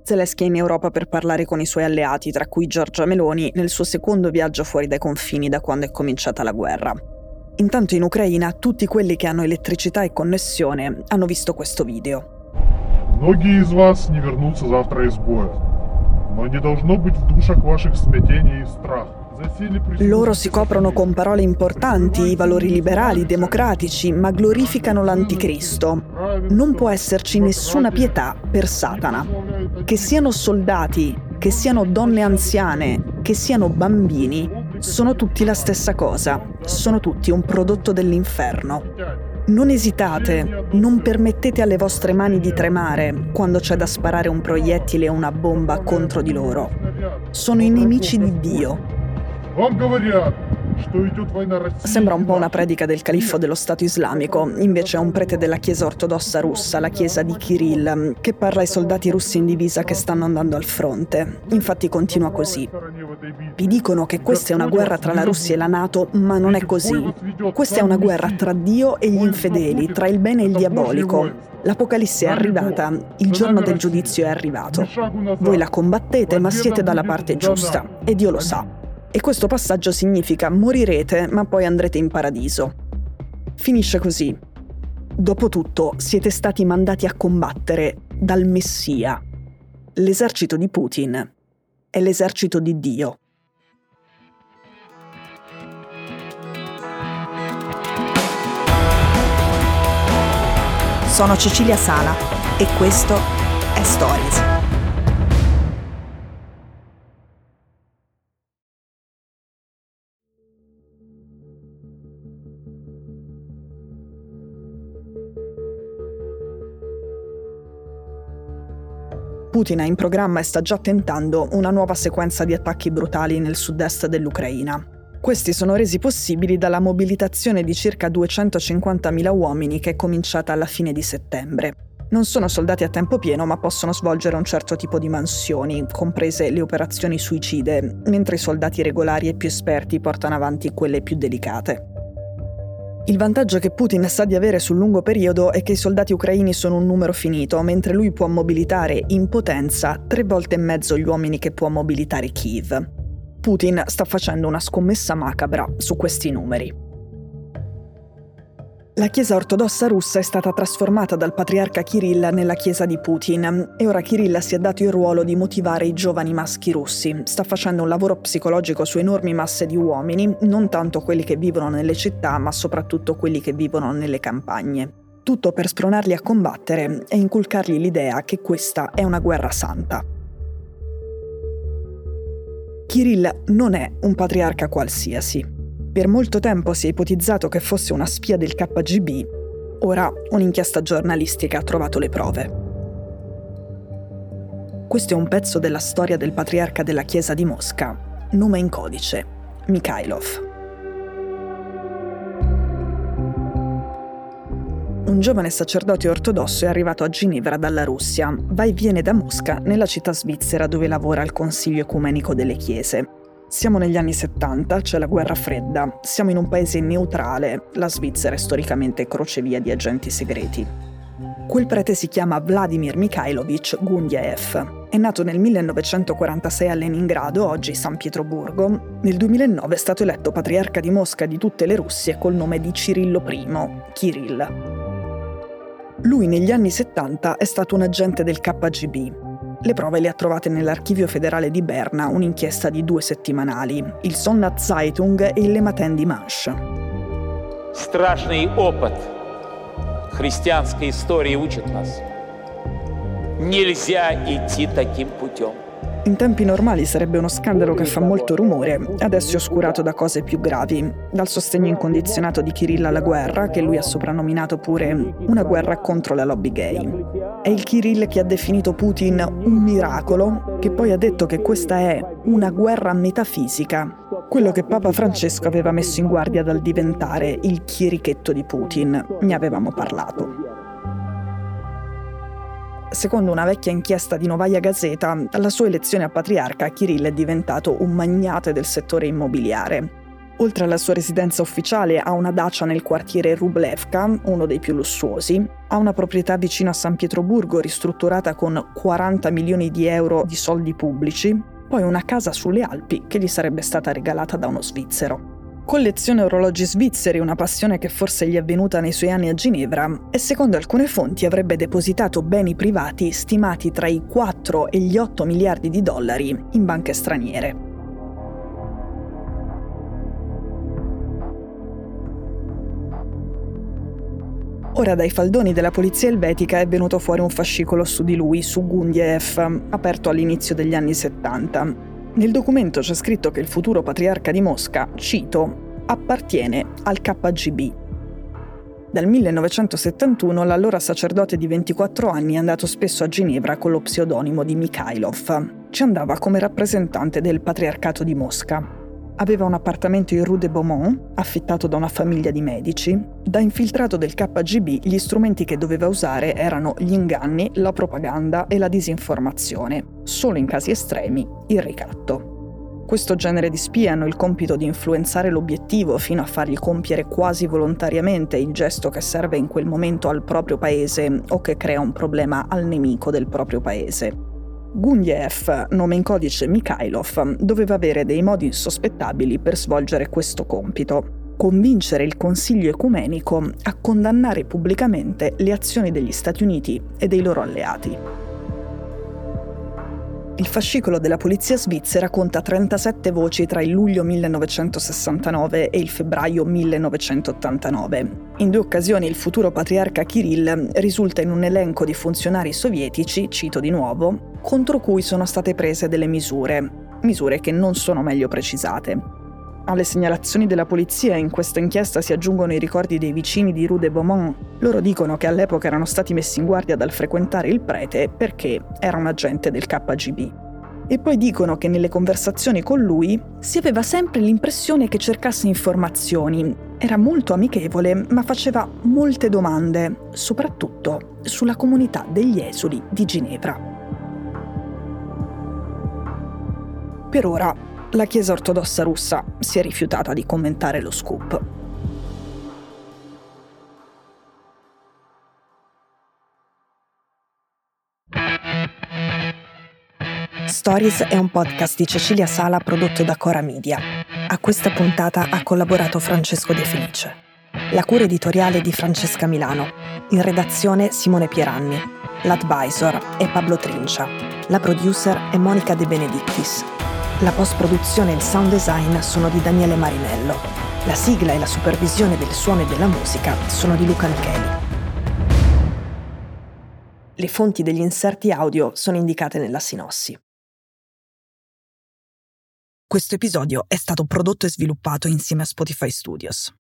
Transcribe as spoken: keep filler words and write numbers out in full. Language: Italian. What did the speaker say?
Zelensky è in Europa per parlare con i suoi alleati, tra cui Giorgia Meloni, nel suo secondo viaggio fuori dai confini da quando è cominciata la guerra. Intanto in Ucraina tutti quelli che hanno elettricità e connessione hanno visto questo video. Многие из вас не вернутся завтра из боя, но не должно быть в душах ваших смятения и страх. Loro si coprono con parole importanti, i valori liberali, democratici, ma glorificano l'anticristo. Non può esserci nessuna pietà per Satana. Che siano soldati, che siano donne anziane, che siano bambini, sono tutti la stessa cosa. Sono tutti un prodotto dell'inferno. Non esitate, non permettete alle vostre mani di tremare quando c'è da sparare un proiettile o una bomba contro di loro. Sono i nemici di Dio. Sembra un po' una predica del califfo dello Stato islamico, invece è un prete della Chiesa ortodossa russa, la Chiesa di Kirill, che parla ai soldati russi in divisa che stanno andando al fronte. Infatti continua così. Vi dicono che questa è una guerra tra la Russia e la NATO, ma non è così. Questa è una guerra tra Dio e gli infedeli, tra il bene e il diabolico. L'Apocalisse è arrivata, il giorno del giudizio è arrivato. Voi la combattete, ma siete dalla parte giusta, e Dio lo sa. E questo passaggio significa morirete, ma poi andrete in paradiso. Finisce così. Dopotutto siete stati mandati a combattere dal Messia. L'esercito di Putin è l'esercito di Dio. Sono Cecilia Sala e questo è Stories. Putin ha in programma e sta già tentando una nuova sequenza di attacchi brutali nel sud-est dell'Ucraina. Questi sono resi possibili dalla mobilitazione di circa duecentocinquantamila uomini che è cominciata alla fine di settembre. Non sono soldati a tempo pieno, ma possono svolgere un certo tipo di mansioni, comprese le operazioni suicide, mentre i soldati regolari e più esperti portano avanti quelle più delicate. Il vantaggio che Putin sa di avere sul lungo periodo è che i soldati ucraini sono un numero finito, mentre lui può mobilitare in potenza tre volte e mezzo gli uomini che può mobilitare Kiev. Putin sta facendo una scommessa macabra su questi numeri. La Chiesa ortodossa russa è stata trasformata dal patriarca Kirill nella Chiesa di Putin e ora Kirill si è dato il ruolo di motivare i giovani maschi russi. Sta facendo un lavoro psicologico su enormi masse di uomini, non tanto quelli che vivono nelle città, ma soprattutto quelli che vivono nelle campagne. Tutto per spronarli a combattere e inculcargli l'idea che questa è una guerra santa. Kirill non è un patriarca qualsiasi. Per molto tempo si è ipotizzato che fosse una spia del K G B, ora un'inchiesta giornalistica ha trovato le prove. Questo è un pezzo della storia del patriarca della Chiesa di Mosca, nome in codice, Mikhailov. Un giovane sacerdote ortodosso è arrivato a Ginevra dalla Russia, va e viene da Mosca nella città svizzera dove lavora al Consiglio Ecumenico delle Chiese. Siamo negli anni settanta, c'è la guerra fredda, siamo in un paese neutrale, la Svizzera è storicamente crocevia di agenti segreti. Quel prete si chiama Vladimir Mikhailovich Gundyaev. È nato nel millenovecentoquarantasei a Leningrado, oggi San Pietroburgo. Nel duemilanove è stato eletto patriarca di Mosca di tutte le Russie col nome di Cirillo I, Kirill. Lui negli anni settanta è stato un agente del K G B. Le prove le ha trovate nell'Archivio federale di Berna, un'inchiesta di due settimanali, il Sonnat Zeitung e il Lematin Dimanche. Страшный опыт христианской истории учит нас. Нельзя идти таким путем. In tempi normali sarebbe uno scandalo che fa molto rumore, adesso è oscurato da cose più gravi, dal sostegno incondizionato di Kirill alla guerra, che lui ha soprannominato pure una guerra contro la lobby gay. È il Kirill che ha definito Putin un miracolo, che poi ha detto che questa è una guerra metafisica, quello che Papa Francesco aveva messo in guardia dal diventare il chierichetto di Putin. Ne avevamo parlato. Secondo una vecchia inchiesta di Novaya Gazeta, alla sua elezione a patriarca Kirill è diventato un magnate del settore immobiliare. Oltre alla sua residenza ufficiale, ha una dacia nel quartiere Rublevka, uno dei più lussuosi, ha una proprietà vicino a San Pietroburgo ristrutturata con quaranta milioni di euro di soldi pubblici, poi una casa sulle Alpi che gli sarebbe stata regalata da uno svizzero. Colleziona orologi svizzeri, una passione che forse gli è venuta nei suoi anni a Ginevra, e secondo alcune fonti avrebbe depositato beni privati stimati tra i quattro e gli otto miliardi di dollari in banche straniere. Ora dai faldoni della polizia elvetica è venuto fuori un fascicolo su di lui, su Gundiev, aperto all'inizio degli anni settanta. Nel documento c'è scritto che il futuro patriarca di Mosca, cito, appartiene al K G B. Dal millenovecentosettantuno l'allora sacerdote di ventiquattro anni è andato spesso a Ginevra con lo pseudonimo di Mikhailov. Ci andava come rappresentante del patriarcato di Mosca. Aveva un appartamento in Rue de Beaumont, affittato da una famiglia di medici. Da infiltrato del K G B, gli strumenti che doveva usare erano gli inganni, la propaganda e la disinformazione. Solo in casi estremi, il ricatto. Questo genere di spie hanno il compito di influenzare l'obiettivo fino a fargli compiere quasi volontariamente il gesto che serve in quel momento al proprio paese o che crea un problema al nemico del proprio paese. Gundiev, nome in codice Mikhailov, doveva avere dei modi insospettabili per svolgere questo compito: convincere il Consiglio ecumenico a condannare pubblicamente le azioni degli Stati Uniti e dei loro alleati. Il fascicolo della polizia svizzera conta trentasette voci tra il luglio millenovecentosessantanove e il febbraio millenovecentottantanove. In due occasioni il futuro patriarca Kirill risulta in un elenco di funzionari sovietici, cito di nuovo, contro cui sono state prese delle misure, misure che non sono meglio precisate. Alle segnalazioni della polizia in questa inchiesta si aggiungono i ricordi dei vicini di Rue de Beaumont. Loro dicono che all'epoca erano stati messi in guardia dal frequentare il prete perché era un agente del K G B. E poi dicono che nelle conversazioni con lui si aveva sempre l'impressione che cercasse informazioni. Era molto amichevole, ma faceva molte domande, soprattutto sulla comunità degli esuli di Ginevra. Per ora, la Chiesa ortodossa russa si è rifiutata di commentare lo scoop. Stories è un podcast di Cecilia Sala prodotto da Cora Media. A questa puntata ha collaborato Francesco De Felice. La cura editoriale di Francesca Milano. In redazione Simone Pieranni. L'advisor è Pablo Trincia. La producer è Monica De Benedictis. La post-produzione e il sound design sono di Daniele Marinello. La sigla e la supervisione del suono e della musica sono di Luca Micheli. Le fonti degli inserti audio sono indicate nella sinossi. Questo episodio è stato prodotto e sviluppato insieme a Spotify Studios.